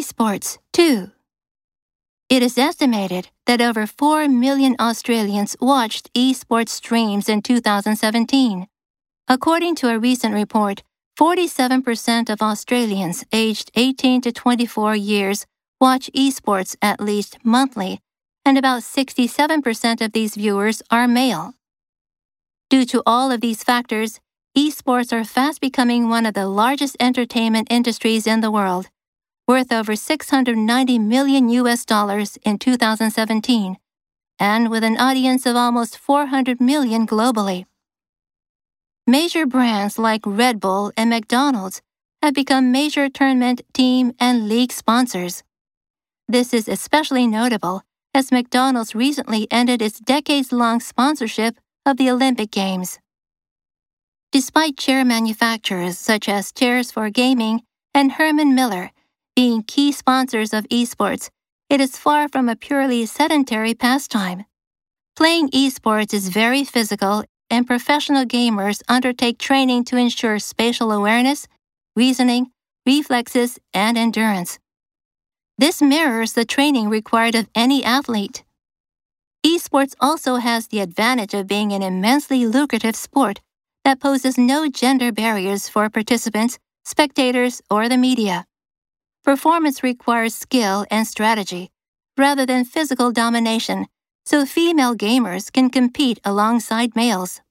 esports, too. It is estimated that over 4 million Australians watched esports streams in 2017. According to a recent report, 47% of Australians aged 18 to 24 years watch esports at least monthly, and about 67% of these viewers are male. Due to all of these factors, esports are fast becoming one of the largest entertainment industries in the world, worth over $690 million in 2017, and with an audience of almost 400 million globally. Major brands like Red Bull and McDonald's have become major tournament, team, and league sponsors. This is especially notable as McDonald's recently ended its decades-long sponsorship of the Olympic Games. Despite chair manufacturers such as Chairs for Gaming and Herman Miller being key sponsors of esports, it is far from a purely sedentary pastime. Playing esports is very physical, and professional gamers undertake training to ensure spatial awareness, reasoning, reflexes, and endurance. This mirrors the training required of any athlete. Esports also has the advantage of being an immensely lucrative sport that poses no gender barriers for participants, spectators, or the media. Performance requires skill and strategy, rather than physical domination, so female gamers can compete alongside males.